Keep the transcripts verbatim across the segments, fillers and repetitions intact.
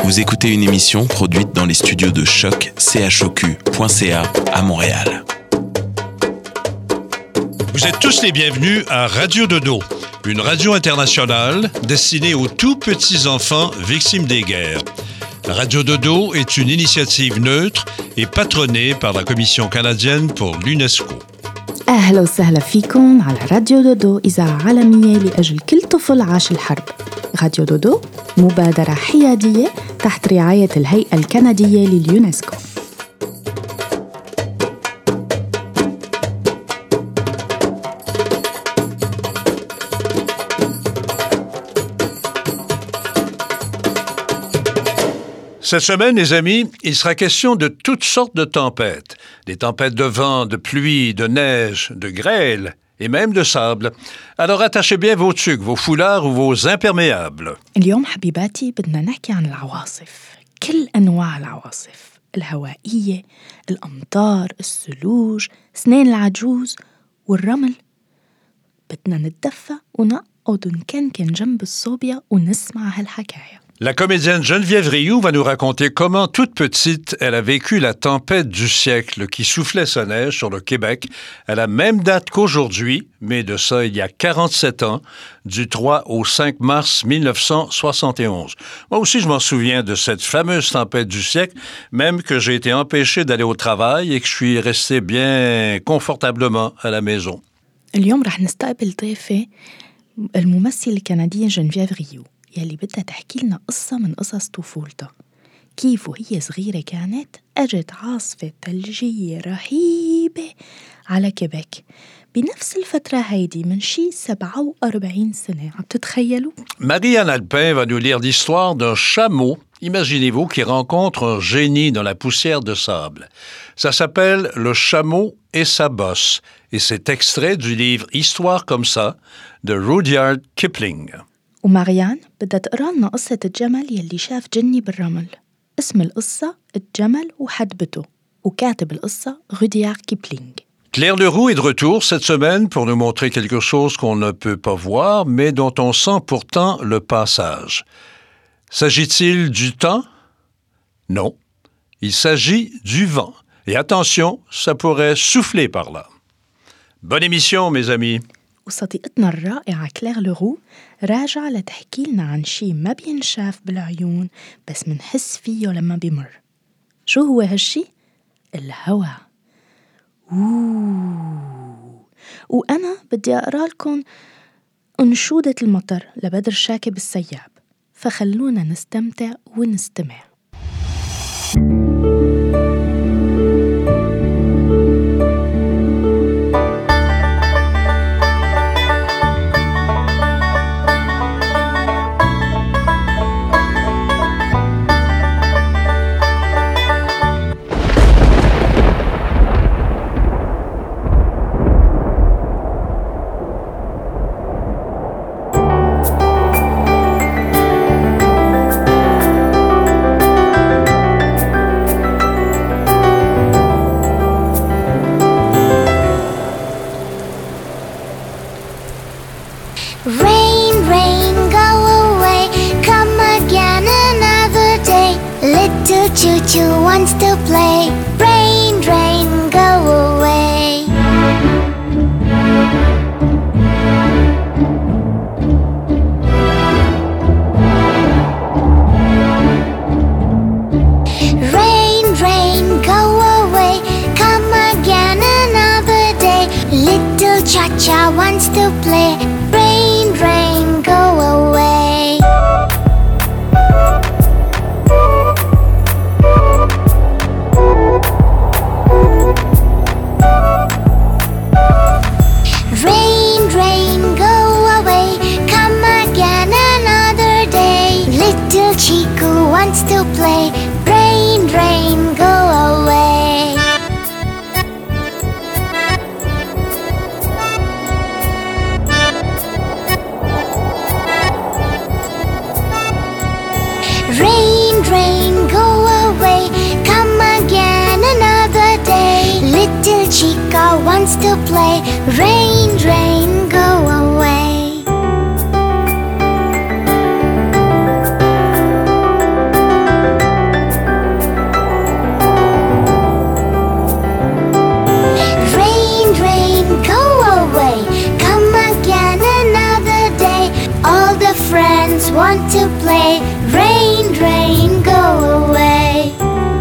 Vous écoutez une émission produite dans les studios de choc choq point c a à Montréal. Vous êtes tous les bienvenus à Radio Dodo, une radio internationale destinée aux tout petits enfants victimes des guerres. Radio Dodo est une initiative neutre et patronnée par la Commission canadienne pour l'UNESCO. أهلا وسهلا فيكم على راديو دودو إذاعة عالمية لأجل كل طفل عاش الحرب. راديو دودو مبادرة حيادية تحت رعاية الهيئة الكندية لليونسكو. Cette semaine, les amis, il sera question de toutes sortes de tempêtes. Des tempêtes de vent, de pluie, de neige, de grêle et même de sable. Alors attachez bien vos tuques, vos foulards ou vos imperméables. اليوم حبيباتي بدنا نحكي عن العواصف. كل أنواع العواصف. الهوائية، الأمطار، الثلوج، سنين العجوز والرمل. بدنا نتدفى ونقعد ونكنكن جنب الصوبيا ونسمع هالحكاية. La comédienne Geneviève Rioux va nous raconter comment, toute petite, elle a vécu la tempête du siècle qui soufflait sa neige sur le Québec à la même date qu'aujourd'hui, mais de ça il y a quarante-sept ans, du trois au cinq mars mille neuf cent soixante et onze. Moi aussi, je m'en souviens de cette fameuse tempête du siècle, même que j'ai été empêché d'aller au travail et que je suis resté bien confortablement à la maison. اليوم رح نستقبل ضيفة الممثلة الكندية جنفييف ريو يلي بدها تحكي لنا قصة من قصص طفولتها. كيف وهي صغيرة كانت أجت عاصفة ثلجية رهيبة على كيبيك بنفس الفترة هيدي من شي سبعة وأربعين سنة. عم تتخيلوا؟ Marie-Anne Alpin va nous lire l'histoire d'un chameau, imaginez-vous, qui rencontre un génie dans la poussière de sable. Ça s'appelle Le chameau et sa bosse et c'est extrait du livre Histoire comme ça de Rudyard Kipling. وماريان بدها تقرأ لنا قصة الجمل يلي شاف جني بالرمل. اسم القصة الجمل وحدبته وكاتب القصة روديارد كيبلينغ. Claire Leroux est de retour cette semaine pour nous montrer quelque chose qu'on ne peut pas voir, mais dont on sent pourtant le passage. S'agit-il du temps? Non. Il s'agit du vent. Et attention, ça pourrait souffler par là. Bonne émission, mes amis. وصديقتنا الرائعة كلير لورو راجعة لتحكي لنا عن شي ما بينشاف بالعيون بس منحس فيه لما بيمر. شو هو هالشي؟ الهوا. أوه. وأنا بدي أقرأ لكم أنشودة المطر لبدر شاكب السياب، فخلونا نستمتع ونستمع. Choo-choo wants to play. Rain, rain, go away. Rain, rain, go away. Come again another day. Little cha-cha wants to play. Rain, rain, go away. Rain, rain, go away. Come again another day. Little Chiku wants to play. Rain, rain, go away. Rain, rain, go away. Come again another day. Little Chica wants to play. Rain, rain, go away. want to play. Rain, rain, go away.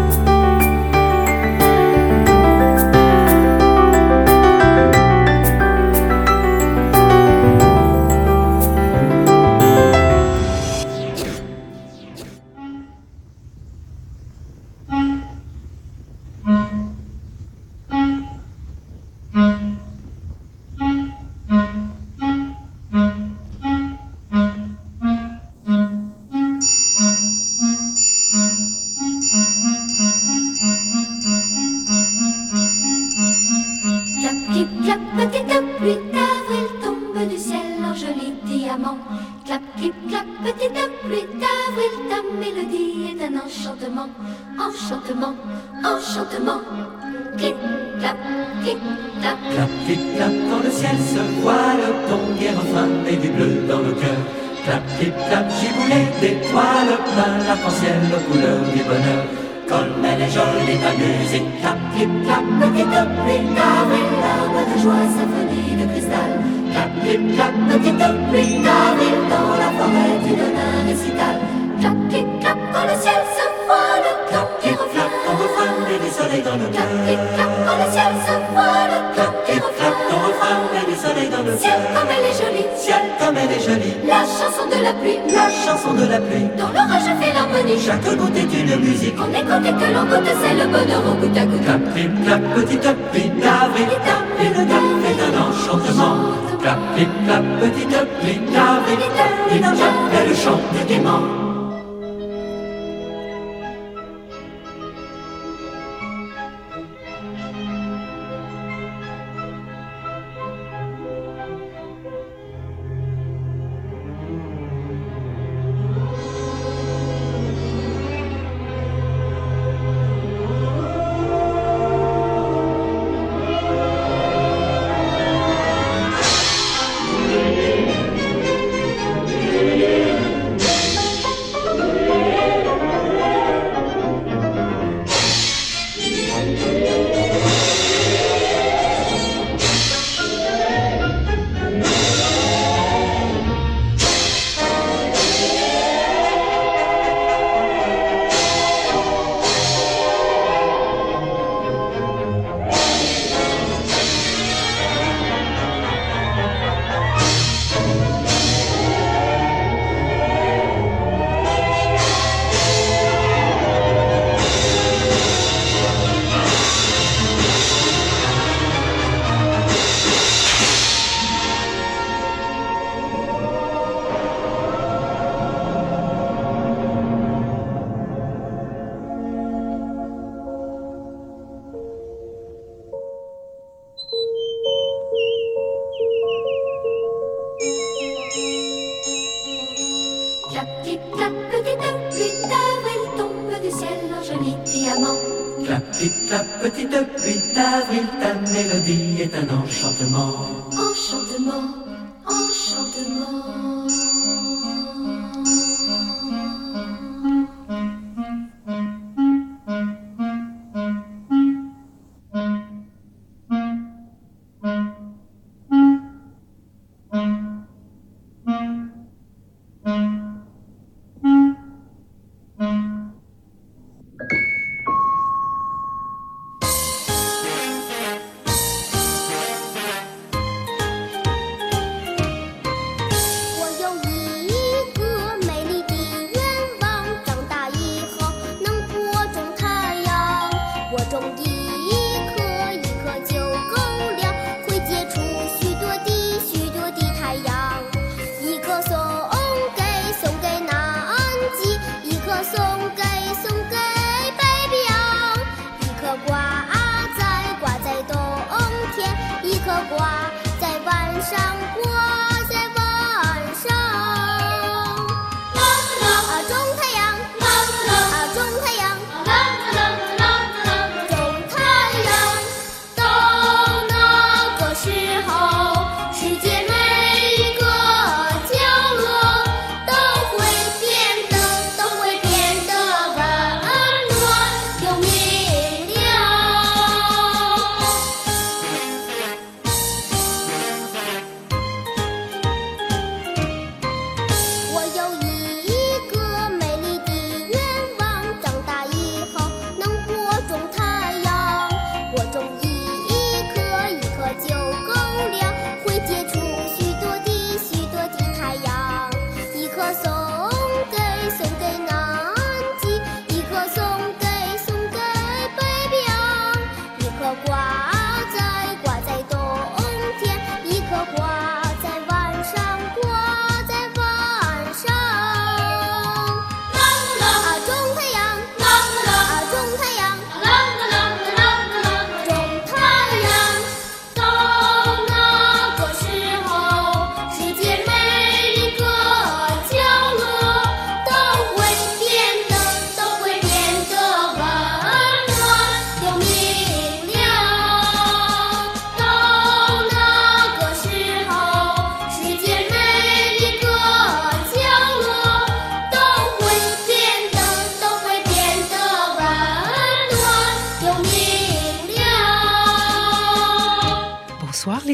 Enchantement, enchantement, clip, clap, clip, clap. Clap, clip, clap, dans le ciel se voile ton gai refrain et du bleu dans le cœur. Clap, clip, clap, giboulée d'étoiles, plein l'arc-en-ciel aux couleurs du bonheur. Comme elle est jolie ta musique, clap, clip, clap, petite pluie d'avril, larmes de joie, symphonie de cristal. Clap, clip, clap, petite pluie d'avril, dans la forêt tu donnes un récital. Clap, clip, clap, dans le ciel se voile ton gai refrain, ton refrain et du soleil dans le cœur. Clap, clip, clap, dans le ciel se voile ton gai refrain, ton refrain et du soleil dans le cœur. Ciel comme elle est jolie, ciel comme elle est jolie. La chanson de la pluie, la chanson de la pluie. Dans l'orage fait l'harmonie, chaque goutte est une musique. On écoute et que l'on goûte, c'est le bonheur au goutte à goutte. Clap, clip, clap, petite pluie d'avril, et le clap est un enchantement. Clap, clip, clap, petite pluie d'avril, et dans Jacques, elle chante gaiement. Est un enchantement, enchantement, enchantement.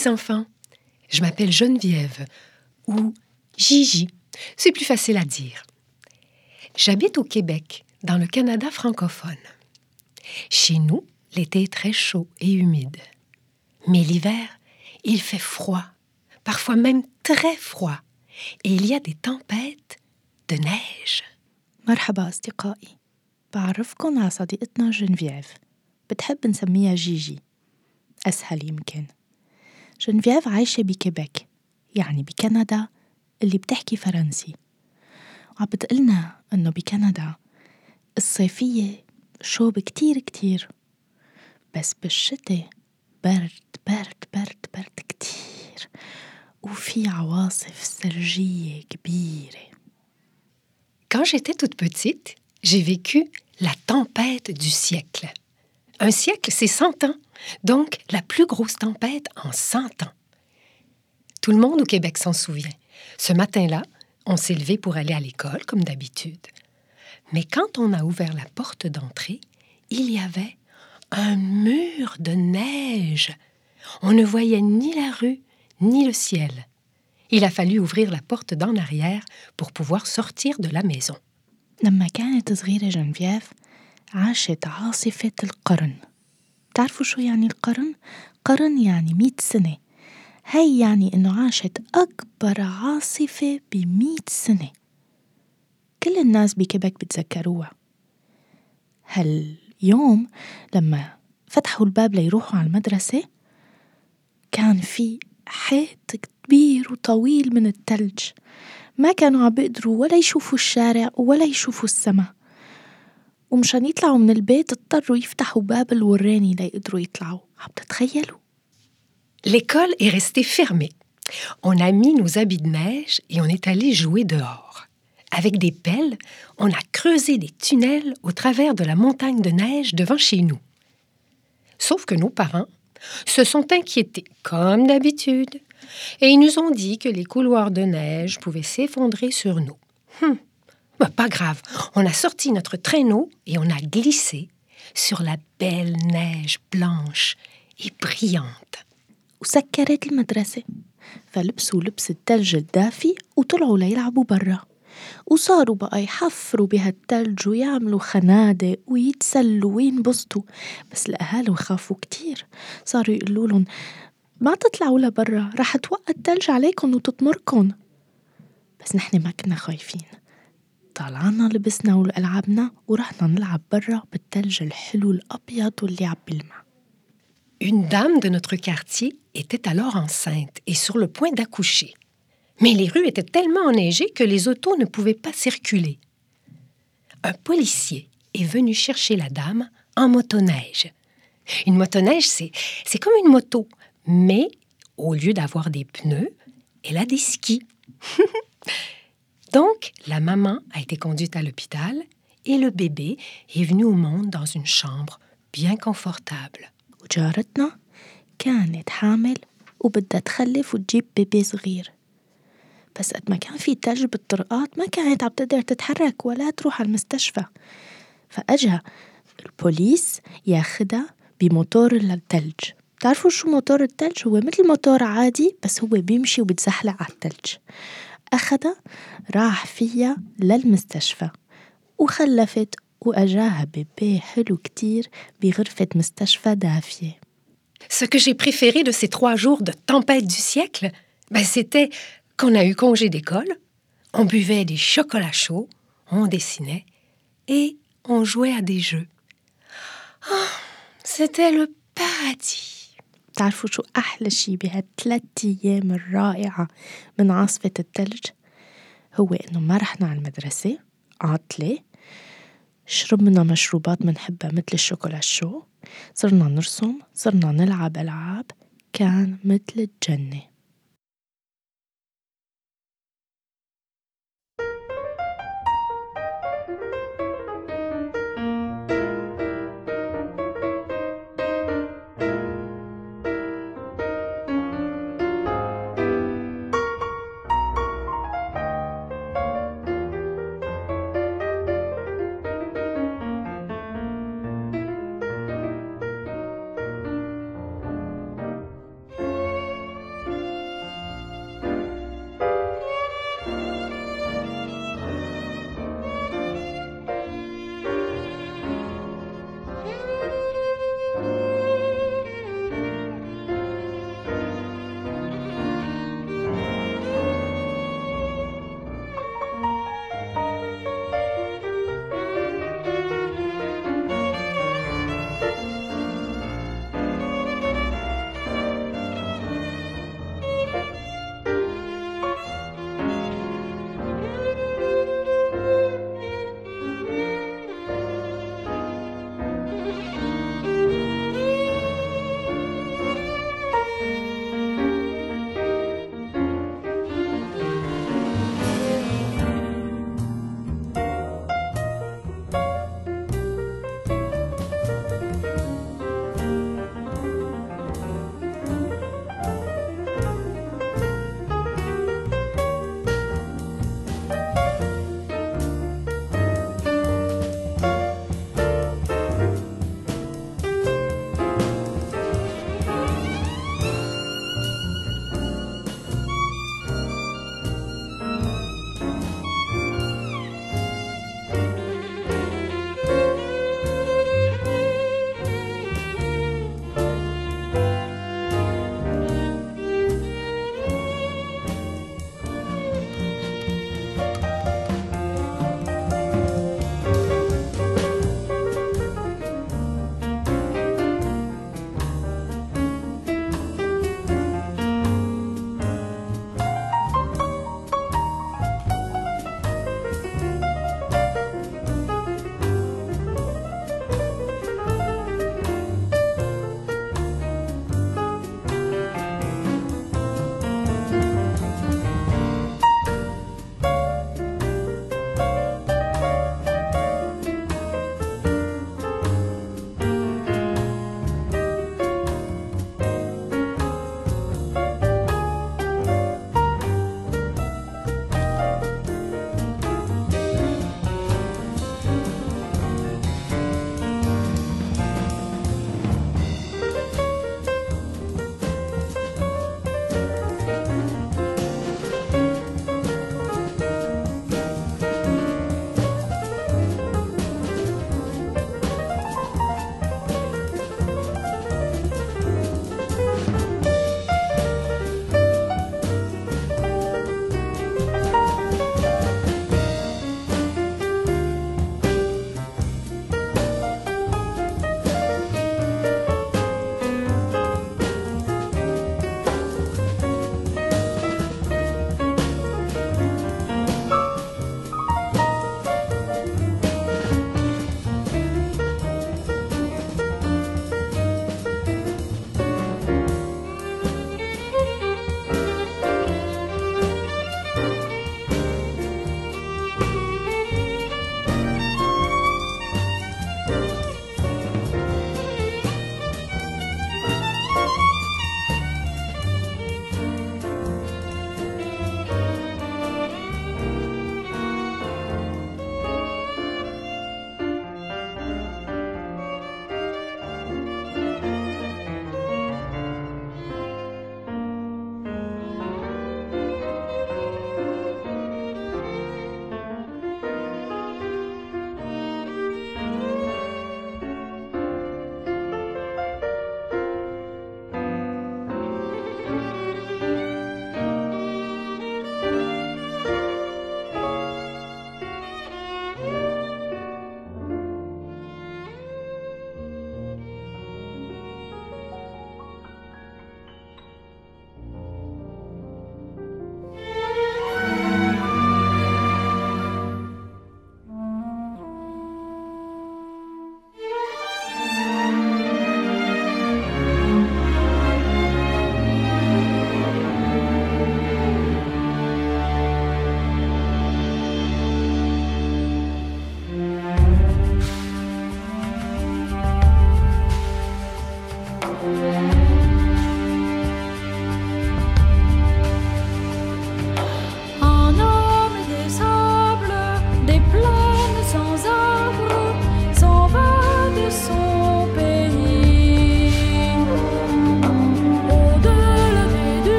les enfants. Je m'appelle Geneviève, ou Gigi. C'est plus facile à dire. J'habite au Québec, dans le Canada francophone. Chez nous, l'été est très chaud et humide. Mais l'hiver, il fait froid, parfois même très froid. Et il y a des tempêtes de neige. مرحبا أصدقائي، بعرفكن على صديقتنا جنفييف، بتحب نسميها جيجي، أسهل يمكن. جنفييف عايشة بكيبك، يعني بكندا اللي بتحكي فرنسي، وعم بتقلنا إنه بكندا الصيفية شوب كتير كتير، بس بالشتاء برد برد برد برد كتير، وفي عواصف ثلجية كبيرة. Quand j'étais toute petite, j'ai vécu la tempête du siècle. Un siècle, c'est cent ans, donc la plus grosse tempête en cent ans. Tout le monde au Québec s'en souvient. Ce matin-là, on s'est levé pour aller à l'école, comme d'habitude. Mais quand on a ouvert la porte d'entrée, il y avait un mur de neige. On ne voyait ni la rue, ni le ciel. Il a fallu ouvrir la porte d'en arrière pour pouvoir sortir de la maison. لما كانت صغيرة جنفييف عاشت عاصفة القرن. بتعرفوا شو يعني القرن؟ قرن يعني مئة سنة. هاي يعني إنه عاشت أكبر عاصفة بمئة سنة. كل الناس بكيبك بتذكروها. هاليوم لما فتحوا الباب ليروحوا على المدرسة كان في حيط كبير وطويل من التلج، ما كانوا عم بيقدروا ولا يشوفوا الشارع ولا يشوفوا السما، ومشان يطلعوا من البيت اضطروا يفتحوا باب الوراني ليقدروا يطلعوا. عم تتخيلوا؟ L'école est restée fermée. On a mis nos habits de neige et on est allé jouer dehors. Avec des pelles, on a creusé des tunnels au travers de la montagne de neige devant chez nous. Sauf que nos parents se sont inquiétés, comme d'habitude, et ils nous ont dit que les couloirs de neige pouvaient s'effondrer sur nous. Hum, bah, pas grave, on a sorti notre traîneau et on a glissé sur la belle neige blanche et brillante. وسكرت المدرسة، فلبسوا لبس التلج الدافي وطلعوا ليلعبوا برا، وصاروا بقى يحفروا بهالتلج ويعملوا خنادق ويتسلوا وينبسطوا. بس الأهالي خافوا كتير، صاروا يقولوا لهم ما تطلعوا لبرا، رح توقع التلج عليكم وتطمركن. بس نحن ما كنا خايفين، طلعنا لبسنا ولعبنا ورحنا نلعب برا بالتلج الحلو الأبيض واللي عم بيلمع. Une dame de notre quartier était alors enceinte et sur le point d'accoucher. Mais les rues étaient tellement enneigées que les autos ne pouvaient pas circuler. Un policier est venu chercher la dame en motoneige. Une motoneige, c'est, c'est comme une moto, mais au lieu d'avoir des pneus, elle a des skis. Donc, la maman a été conduite à l'hôpital et le bébé est venu au monde dans une chambre bien confortable. وجارتنا كانت حامل وبدها تخلف وتجيب بيبي صغير، بس قد ما كان في تلج بالطرقات ما كانت عم تقدر تتحرك ولا تروح على المستشفى، فأجا البوليس ياخدها بموتور للتلج. تعرفوا شو موتور التلج؟ هو مثل موتور عادي بس هو بيمشي وبتزحلق على التلج. أخدها راح فيها للمستشفى وخلفت، وأجاها بيبي حلو كتير بغرفة مستشفى دافية. Ce que j'ai préféré de ces trois jours de tempête du siècle, ben c'était qu'on a eu congé d'école, on buvait des chocolats chauds, on dessinait et on jouait à des jeux. Oh, c'était le paradis. تعرفوا شو أحلى شي بهالثلاث أيام الرائعة من عاصفة الثلج؟ هو إنه ما رحنا على المدرسة عاطلة، شربنا مشروبات منحبها مثل الشوكولا الشو، صرنا نرسم، صرنا نلعب ألعاب، كان مثل الجنة.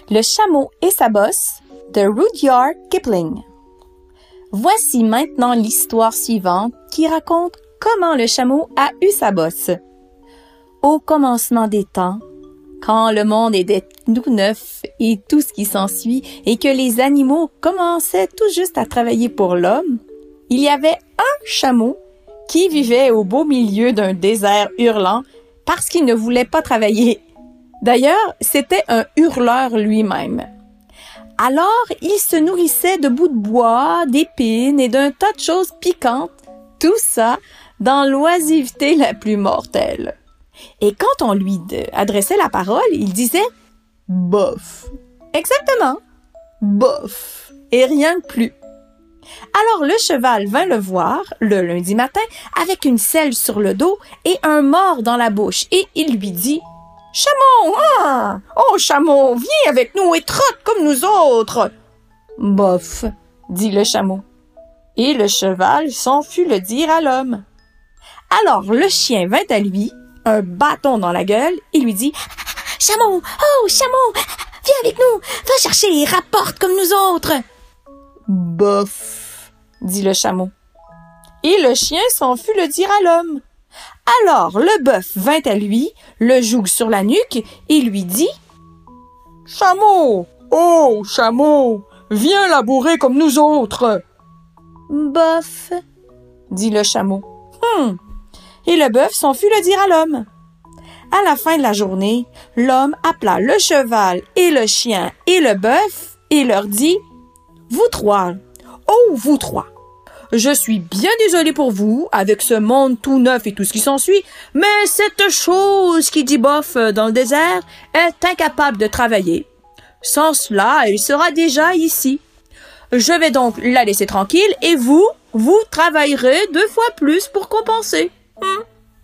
Le chameau et sa bosse de Rudyard Kipling. Voici maintenant l'histoire suivante qui raconte comment le chameau a eu sa bosse. Au commencement des temps, quand le monde était tout neuf et tout ce qui s'ensuit et que les animaux commençaient tout juste à travailler pour l'homme, il y avait un chameau qui vivait au beau milieu d'un désert hurlant parce qu'il ne voulait pas travailler. D'ailleurs, c'était un hurleur lui-même. Alors, il se nourrissait de bouts de bois, d'épines et d'un tas de choses piquantes, tout ça dans l'oisiveté la plus mortelle. Et quand on lui adressait la parole, il disait « bof ». Exactement, « bof » et rien de plus. Alors le cheval vint le voir le lundi matin avec une selle sur le dos et un mors dans la bouche et il lui dit « Chameau, hein? Oh chameau, viens avec nous et trotte comme nous autres !»« Bof », dit le chameau. Et le cheval s'en fut le dire à l'homme. Alors le chien vint à lui, un bâton dans la gueule, et lui dit « Chameau, oh chameau, viens avec nous, va chercher et rapporte comme nous autres !»« Bof », dit le chameau. Et le chien s'en fut le dire à l'homme. Alors le bœuf vint à lui, le joug sur la nuque, et lui dit « Chameau, oh chameau, viens labourer comme nous autres !»« Bof », dit le chameau. Hum. Et le bœuf s'en fut le dire à l'homme. À la fin de la journée, l'homme appela le cheval et le chien et le bœuf et leur dit « Vous trois, oh vous trois, je suis bien désolé pour vous avec ce monde tout neuf et tout ce qui s'ensuit, mais cette chose qui dit bof dans le désert est incapable de travailler. Sans cela, elle sera déjà ici. Je vais donc la laisser tranquille et vous, vous travaillerez deux fois plus pour compenser. Hum. »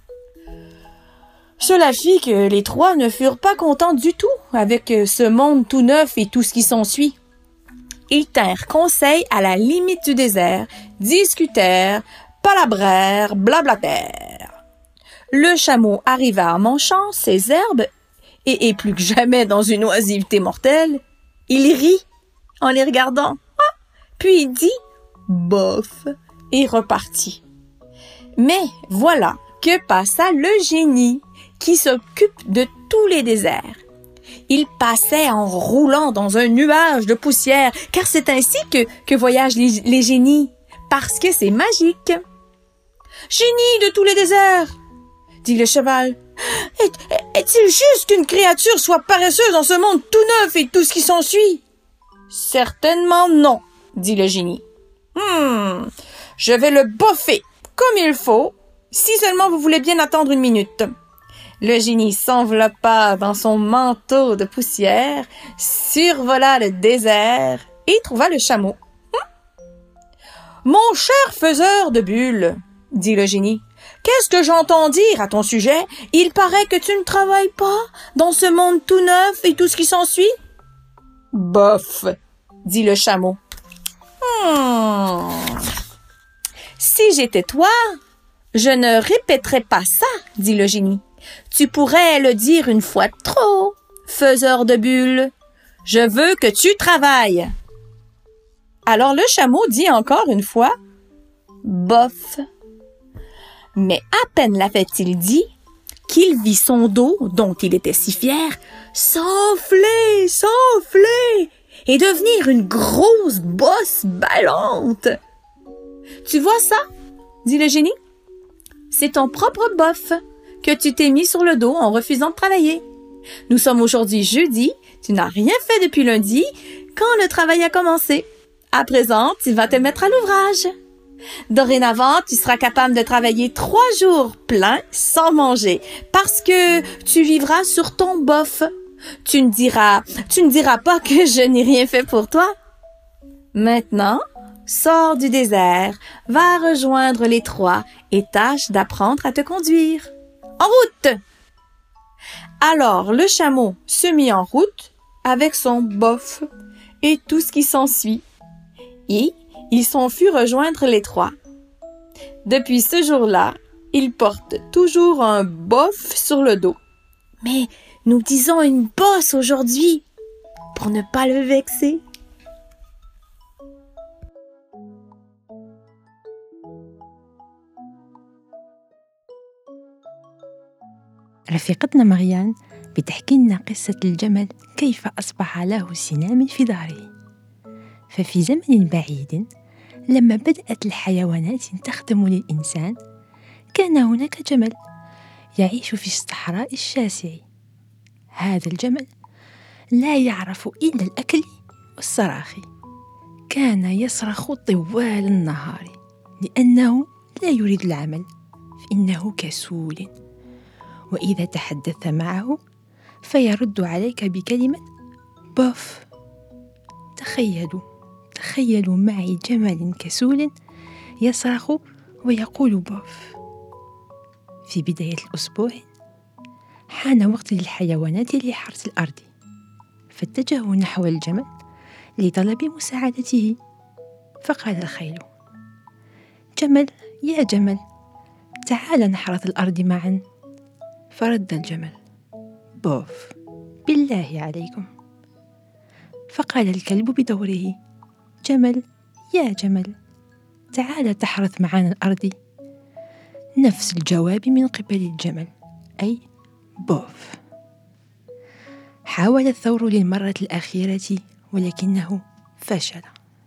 Cela fit que les trois ne furent pas contents du tout avec ce monde tout neuf et tout ce qui s'ensuit. Ils tinrent conseil à la limite du désert, discutèrent, palabrèrent, blablatèrent. Le chameau arriva en manchant ses herbes et, et plus que jamais dans une oisiveté mortelle, il rit en les regardant, ah, puis il dit « bof » et repartit. Mais voilà que passa le génie qui s'occupe de tous les déserts. Il passait en roulant dans un nuage de poussière, car c'est ainsi que, que voyagent les, les génies, parce que c'est magique. « Génie de tous les déserts !» dit le cheval. Est, « Est-il juste qu'une créature soit paresseuse dans ce monde tout neuf et tout ce qui s'ensuit ?»« Certainement non, » dit le génie. « Hmm, je vais le boffer comme il faut, si seulement vous voulez bien attendre une minute. » Le génie s'enveloppa dans son manteau de poussière, survola le désert et trouva le chameau. Hum? « Mon cher faiseur de bulles, » dit le génie, « qu'est-ce que j'entends dire à ton sujet? Il paraît que tu ne travailles pas dans ce monde tout neuf et tout ce qui s'ensuit. »« Bof, » dit le chameau. Hmm. « Si j'étais toi, je ne répéterais pas ça, » dit le génie. Tu pourrais le dire une fois de trop, faiseur de bulles. Je veux que tu travailles. Alors le chameau dit encore une fois, bof. Mais à peine l'avait-il dit qu'il vit son dos, dont il était si fier, s'enfler, s'enfler et devenir une grosse bosse ballante. Tu vois ça? Dit le génie. C'est ton propre bof que tu t'es mis sur le dos en refusant de travailler. Nous sommes aujourd'hui jeudi, tu n'as rien fait depuis lundi, quand le travail a commencé. À présent, tu vas te mettre à l'ouvrage. Dorénavant, tu seras capable de travailler trois jours pleins sans manger, parce que tu vivras sur ton bof. Tu ne diras, tu ne diras pas que je n'ai rien fait pour toi. Maintenant, sors du désert, va rejoindre les trois et tâche d'apprendre à te conduire. En route! Alors le chameau se mit en route avec son bof et tout ce qui s'ensuit. Et il s'en fut rejoindre les trois. Depuis ce jour-là, il porte toujours un bof sur le dos. Mais nous disons une bosse aujourd'hui. pour ne pas le vexer. رفيقتنا مريان بتحكي لنا قصة الجمل كيف أصبح له سنام في ظهره. ففي زمن بعيد لما بدأت الحيوانات تخدم للإنسان، كان هناك جمل يعيش في الصحراء الشاسع. هذا الجمل لا يعرف إلا الأكل والصراخ. كان يصرخ طوال النهار لأنه لا يريد العمل، فإنه كسول، وإذا تحدثت معه فيرد عليك بكلمة بوف. تخيلوا تخيلوا معي جمل كسول يصرخ ويقول بوف. في بداية الأسبوع حان وقت للحيوانات لحرث الأرض، فاتجهوا نحو الجمل لطلب مساعدته. فقال الخيل: جمل يا جمل، تعال نحرث الأرض معا. فرد الجمل: بوف، بالله عليكم. فقال الكلب بدوره: جمل يا جمل، تعال تحرث معنا الأرض. نفس الجواب من قبل الجمل، أي بوف. حاول الثور للمرة الأخيرة ولكنه فشل.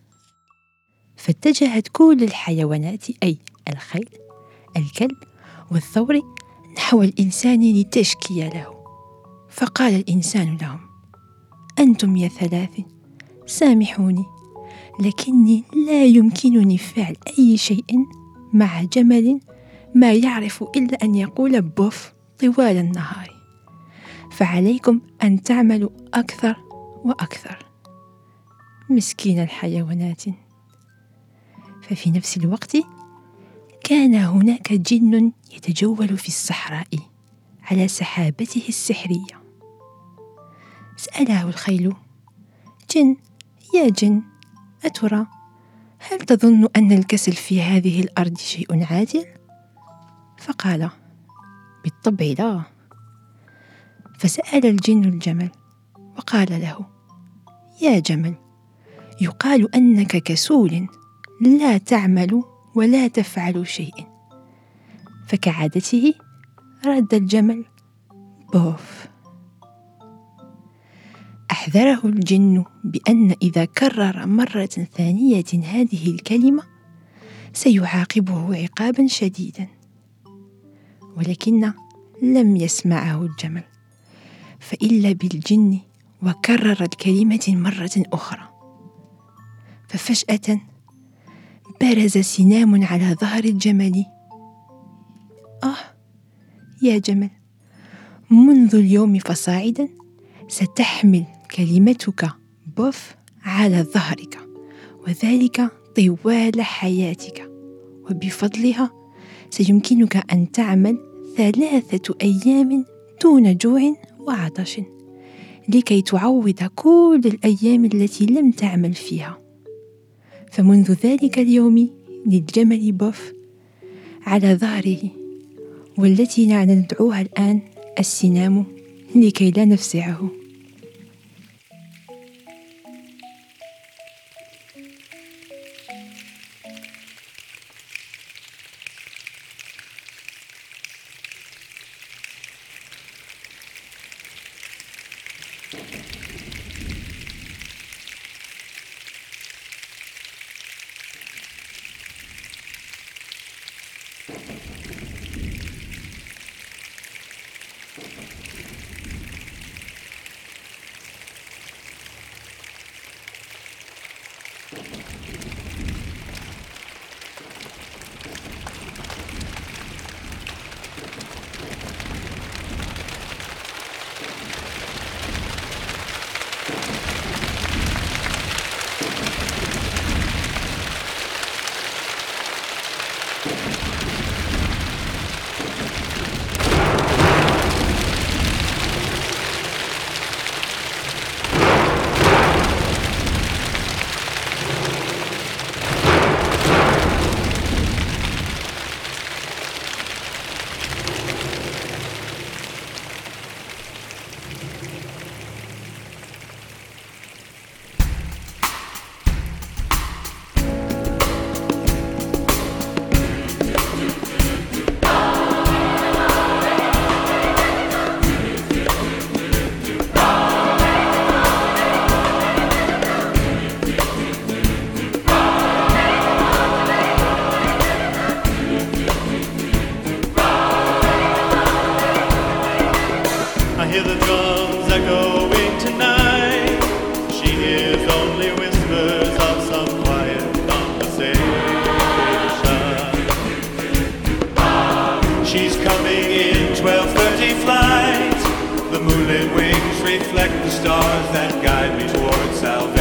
فاتجهت كل الحيوانات، أي الخيل، الكلب والثور، نحو الإنسان لتشكي له. فقال الإنسان لهم: أنتم يا ثلاث، سامحوني، لكني لا يمكنني فعل أي شيء مع جمل ما يعرف إلا أن يقول بوف طوال النهار، فعليكم أن تعملوا أكثر وأكثر. مسكين الحيوانات. ففي نفس الوقت كان هناك جن يتجول في الصحراء على سحابته السحرية. سأله الخيل: جن يا جن، أترى هل تظن أن الكسل في هذه الأرض شيء عادل؟ فقال: بالطبع لا. فسأل الجن الجمل وقال له: يا جمل، يقال أنك كسول لا تعمل ولا تفعل شيء. فكعادته رد الجمل: بوف. أحذره الجن بأن إذا كرر مرة ثانية هذه الكلمة سيعاقبه عقابا شديدا. ولكن لم يسمعه الجمل، فإلا بالجن وكرر الكلمة مرة أخرى. ففجأة برز سنام على ظهر الجمل. آه يا جمل، منذ اليوم فصاعدا ستحمل كلمتك بوف على ظهرك، وذلك طوال حياتك، وبفضلها سيمكنك أن تعمل ثلاثة أيام دون جوع وعطش، لكي تعوض كل الأيام التي لم تعمل فيها. فمنذ ذلك اليوم للجمل بوف على ظهره، والتي ندعوها الآن السنام لكي لا نفزعه. our drums echoing tonight. She hears only whispers of some quiet conversation. She's coming in twelve thirty flight. The moonlit wings reflect the stars that guide me towards salvation.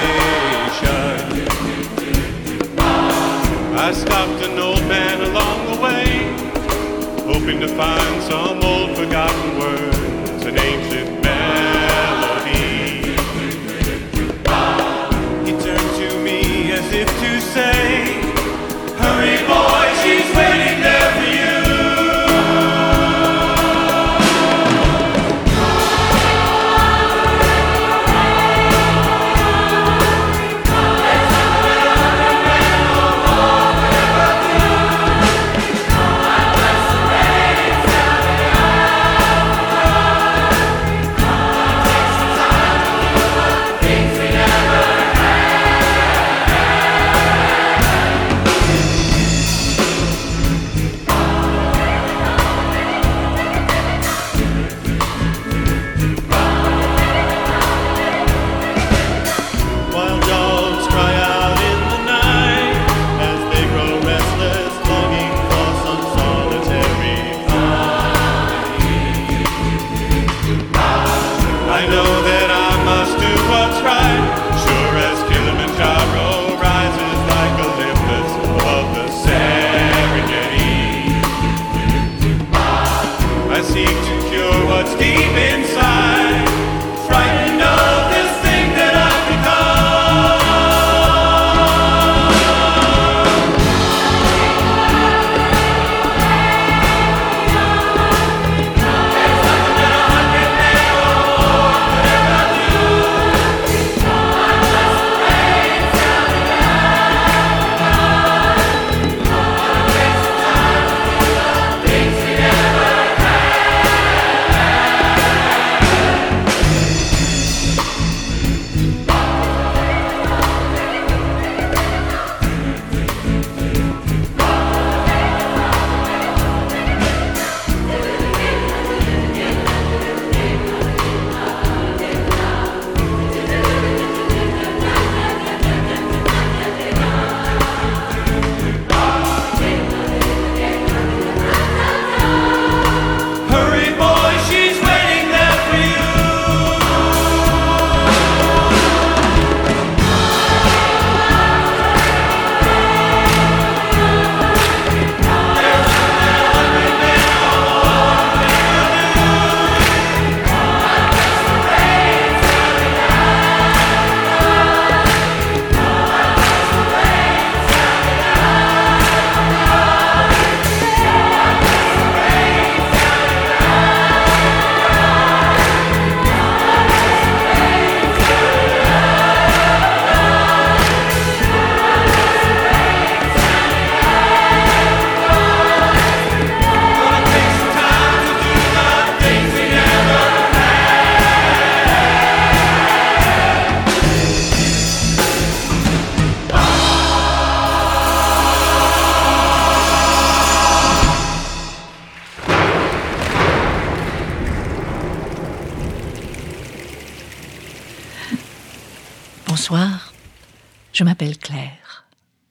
I stopped an old man along the way, hoping to find some old forgotten words, an ancient melody. He turned to me as if to say, hurry boy, she's waiting there for you. Bonsoir, je m'appelle Claire.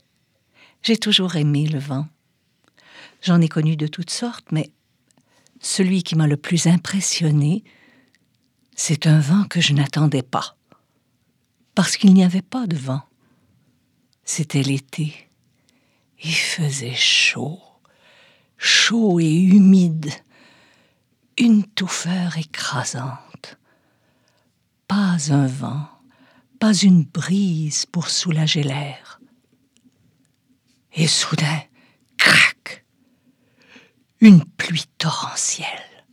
J'ai toujours aimé le vent. J'en ai connu de toutes sortes, mais celui qui m'a le plus impressionné, c'est un vent que je n'attendais pas. Parce qu'il n'y avait pas de vent. C'était l'été. Il faisait chaud, chaud et humide. Une touffeur écrasante. Pas un vent, pas une brise pour soulager l'air. Et soudain, crac, une pluie torrentielle.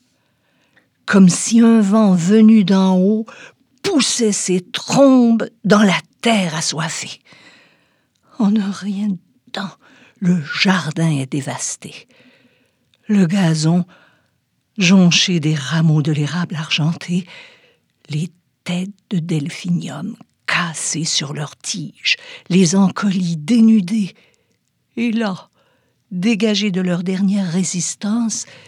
Comme si un vent venu d'en haut poussait ses trombes dans la terre assoiffée. En un rien de temps, le jardin est dévasté. Le gazon, jonché des rameaux de l'érable argenté, les têtes de delphinium cassées sur leurs tiges, les encolis dénudés, et là, dégagés de leur dernière résistance,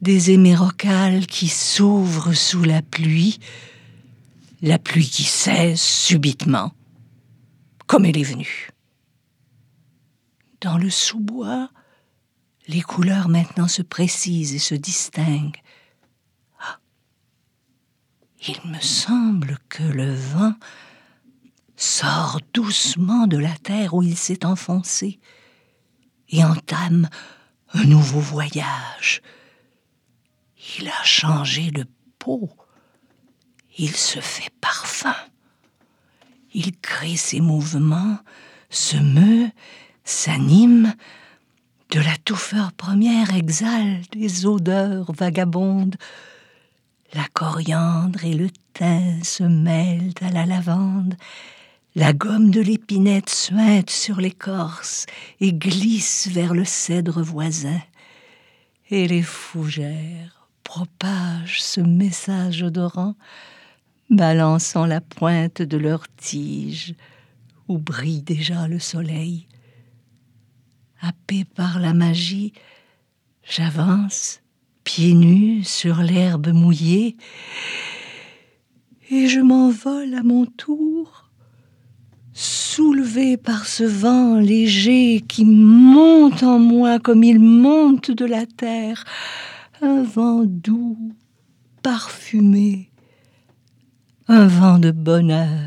des hémérocales qui s'ouvrent sous la pluie, la pluie qui cesse subitement, comme elle est venue. Dans le sous-bois, les couleurs maintenant se précisent et se distinguent. Ah, il me semble que le vent sort doucement de la terre où il s'est enfoncé et entame un nouveau voyage. Il a changé de peau. Il se fait parfum. Il crée ses mouvements, se meut, s'anime. De la touffeur première exhale des odeurs vagabondes. La coriandre et le thym se mêlent à la lavande. La gomme de l'épinette suinte sur l'écorce et glisse vers le cèdre voisin. Et les fougères propagent ce message odorant, balançant la pointe de leurs tiges où brille déjà le soleil. Happé par la magie, j'avance, pieds nus sur l'herbe mouillée, et je m'envole à mon tour, soulevé par ce vent léger qui monte en moi comme il monte de la terre, un vent doux, parfumé, un vent de bonheur.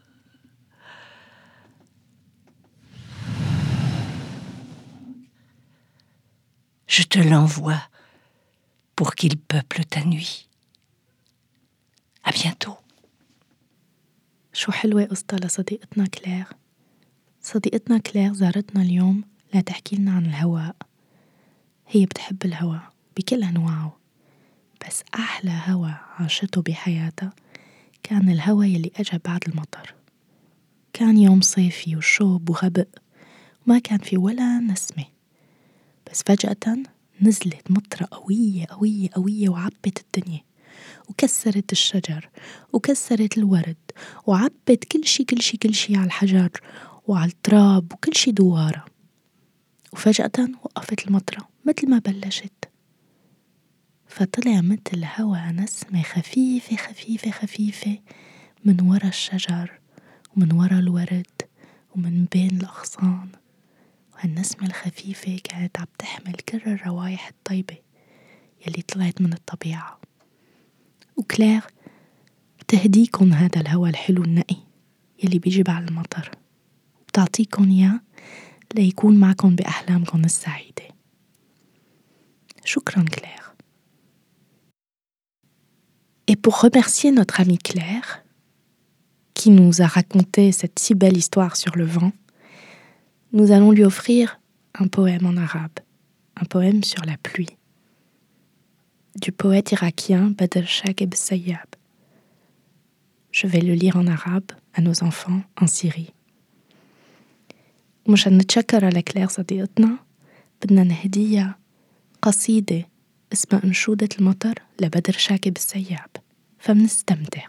Je te l'envoie pour qu'il peuple ta nuit. À bientôt. شو حلوة قصة لصديقتنا كلير. صديقتنا كلير زارتنا اليوم لتحكي لنا عن الهواء. هي بتحب الهواء بكل أنواعه، بس أحلى هواء عاشته بحياتها كان الهواء يلي أجا بعد المطر. كان يوم صيفي وشوب وغبق وما كان في ولا نسمة، بس فجأة نزلت مطرة قوية قوية قوية وعبت الدنيا وكسرت الشجر وكسرت الورد وعبت كل شي كل شي كل شي على الحجر وعلى التراب وكل شي دوارة. وفجأة وقفت المطرة مثل ما بلشت، فطلع مثل هوا نسمة خفيفة خفيفة خفيفة من ورا الشجر ومن ورا الورد ومن بين الأغصان. وهالنسمة الخفيفة كانت عم تحمل كل الروايح الطيبة يلي طلعت من الطبيعة. وكلير بتهديكن هذا الهوا الحلو النقي يلي بيجي بعد المطر، وبتعطيكن إياه ليكون معكن بأحلامكن السعيدة. شكرا كلير. Et pour remercier notre amie Claire, qui nous a raconté cette si belle histoire sur le vent, nous allons lui offrir un poème en arabe, un poème sur la pluie, du poète irakien Badr Shakib Sayyab. Je vais le lire en arabe à nos enfants en Syrie. ومشان نتشكر على كلير صديقتنا بدنا نهديها قصيدة اسمها أنشودة المطر لبدر شاكب السياب، فمنستمتع.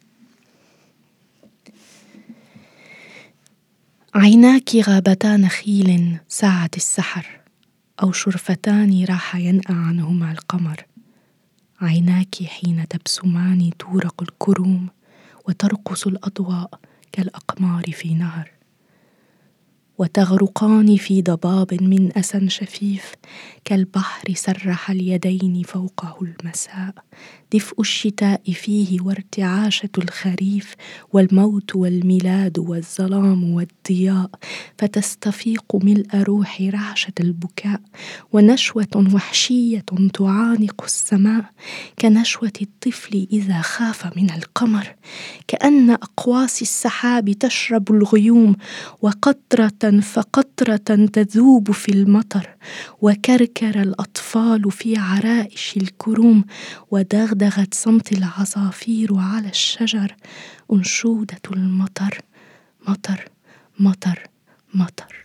عيناك غابتا نخيل ساعة السحر، أو شرفتان راح ينأى عنهما القمر. عيناك حين تبسمان تورق الكروم وترقص الأضواء كالأقمار في نهر، وتغرقان في ضباب من أسى شفيف كالبحر سرح اليدين فوقه المساء. دفء الشتاء فيه وارتعاشة الخريف والموت والميلاد والظلام والضياء، فتستفيق ملء روح رعشة البكاء ونشوة وحشية تعانق السماء كنشوة الطفل إذا خاف من القمر، كأن أقواس السحاب تشرب الغيوم وقطرة فقطرة تذوب في المطر، وكركر الأطفال في عرائش الكروم ودغدغت صمت العصافير على الشجر. أنشودة المطر مطر مطر مطر.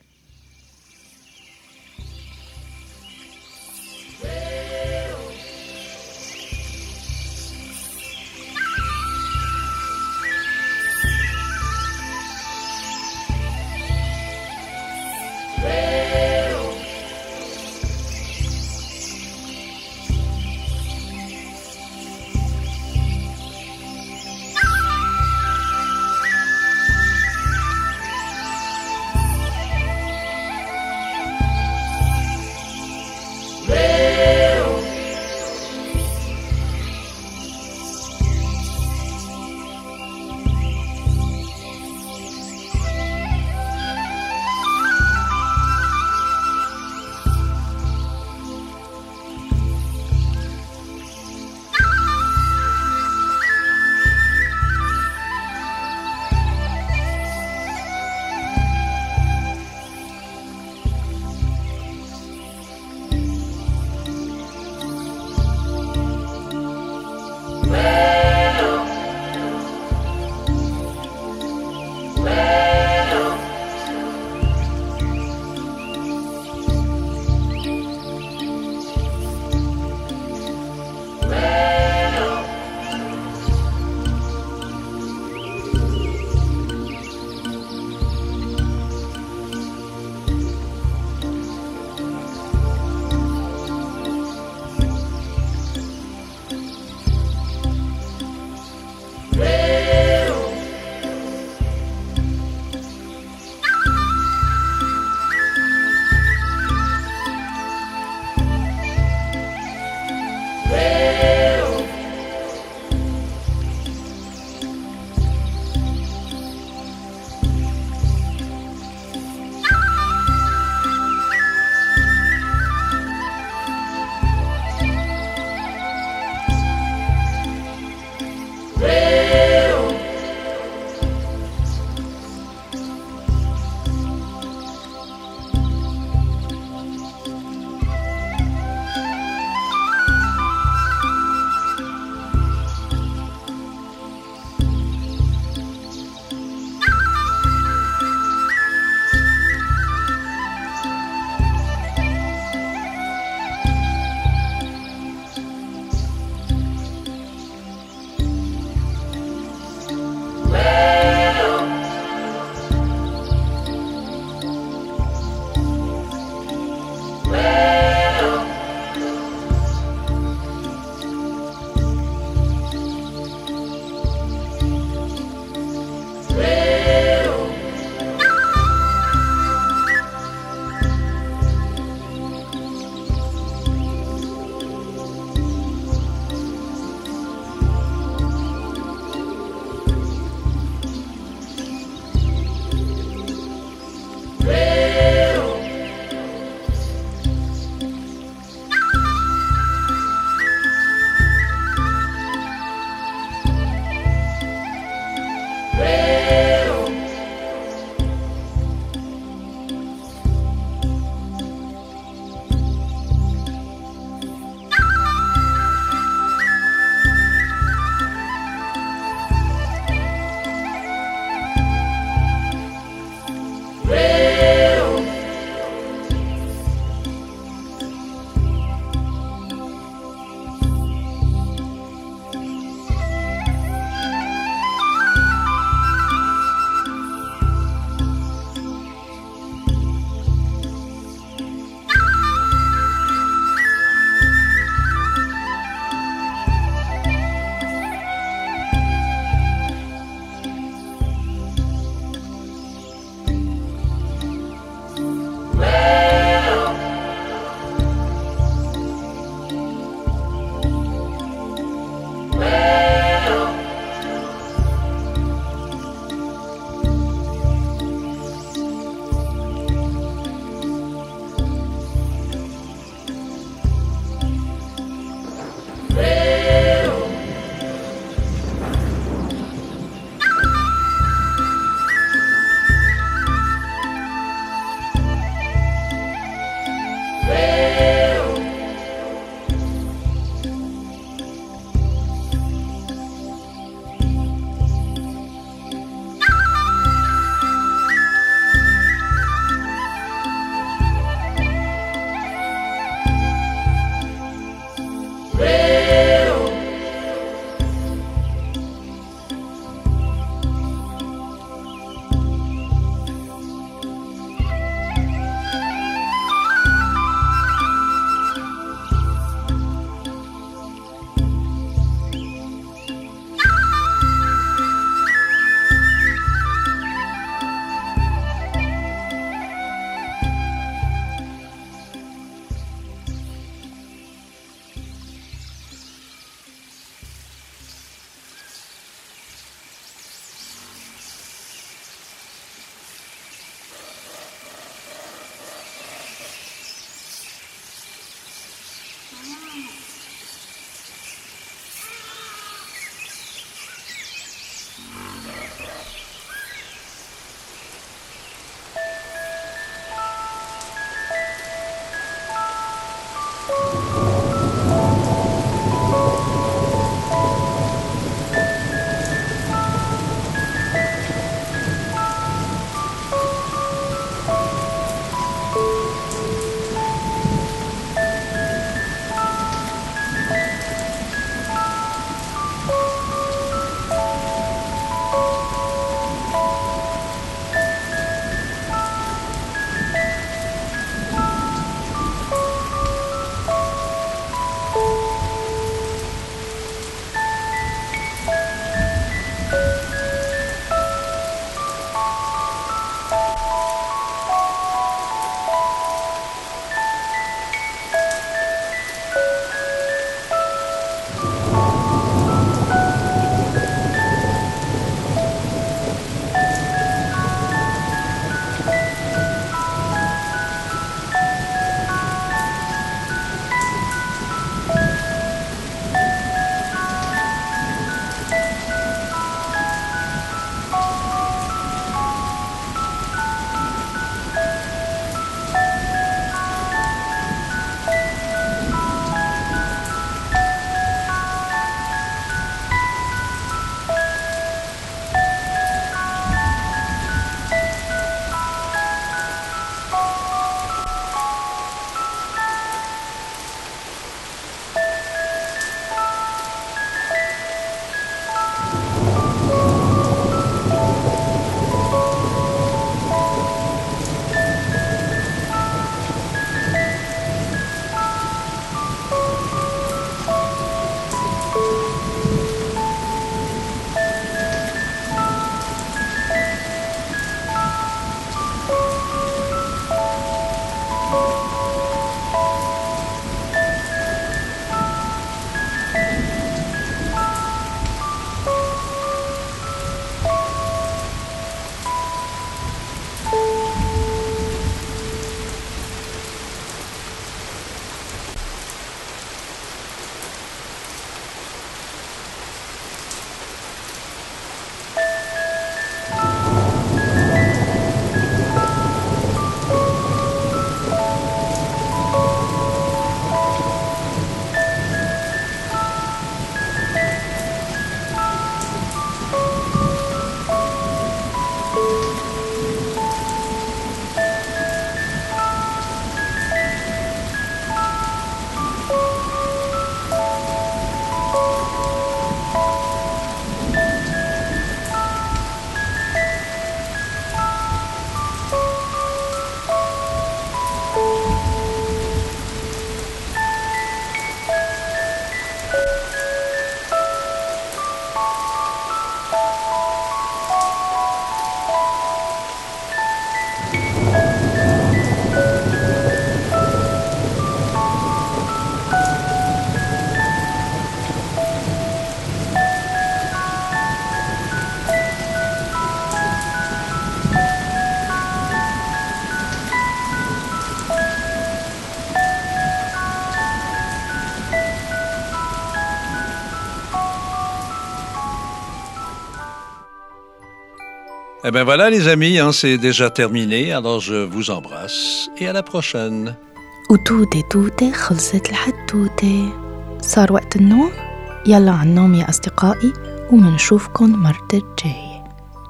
Eh bien voilà les amis, hein, c'est déjà terminé, alors je vous embrasse et à la prochaine. وتوتة توتة خلصت الحدوتة، صار وقت النوم، يلا عالنوم يا أصدقائي ومنشوفكن مرة الجاية.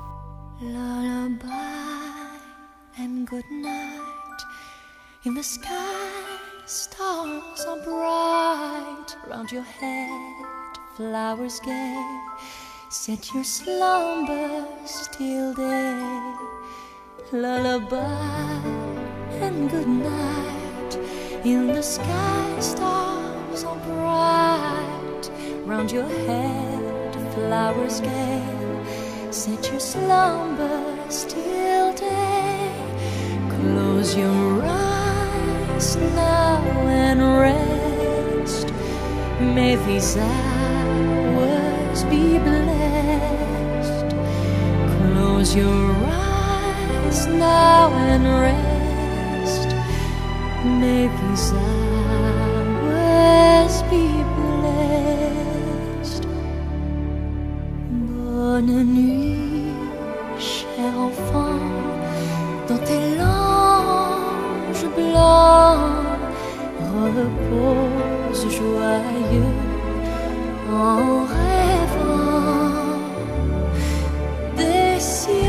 Lullaby and good night. In the sky, stars are bright. Round your head, flowers gay. Set your slumbers till day. Lullaby and good night. In the sky, stars are bright. Round your head, flowers gay. Set your slumbers till day. Close your eyes now and rest. May these hours be blessed. Close your eyes now and rest. May these hours be blessed. Bonne nuit, cher enfant, dans tes langes blancs, repose joyeux en rêvant des cieux.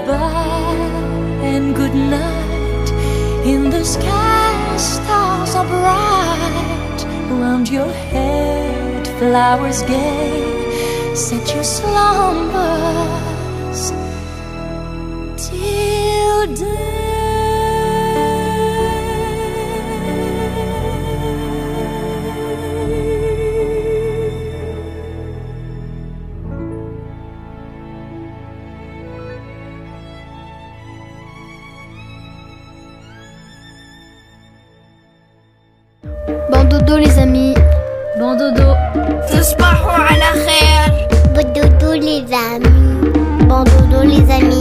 goodbye and good night. In the sky, stars are bright. Round your head, flowers gay set your slumbers till day. Bon dodo les amis. Bon dodo. تصبحوا على خير. Bon dodo les amis. Bon dodo les amis.